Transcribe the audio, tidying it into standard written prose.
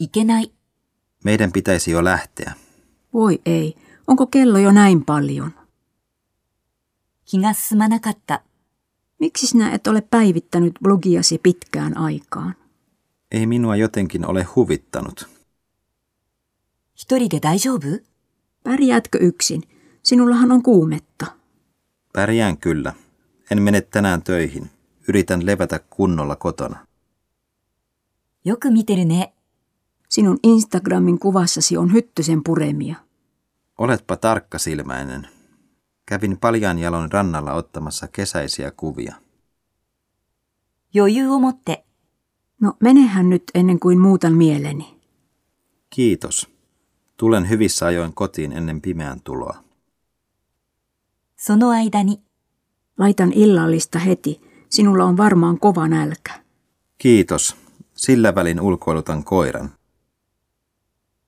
いけない。 Meidän pitäisi jo lähteä. Voi ei, onko kello jo näin paljon? 気が進まなかった。 Miksi sinä et ole päivittänyt blogiasi pitkään aikaan? Ei minua jotenkin ole huvittanut. 一人で大丈夫？ Pärjäätkö yksin? Sinullahan on kuumetta. Pärjään kyllä. En mene tänään töihin. Yritän levätä kunnolla kotona. よく見てるね。 Sinun Instagramin kuvassasi on hyttysen puremia. Oletpa tarkkasilmäinen. Kävin paljaan jalon rannalla ottamassa kesäisiä kuvia. 余裕を持って。 No menehän nyt ennen kuin muutan mieleni. Kiitos. Tulen hyvissä ajoin kotiin ennen pimeän tuloa. その間に。 Laitan illallista heti. Sinulla on varmaan kova nälkä. Kiitos. Sillä välin ulkoilutan koiran.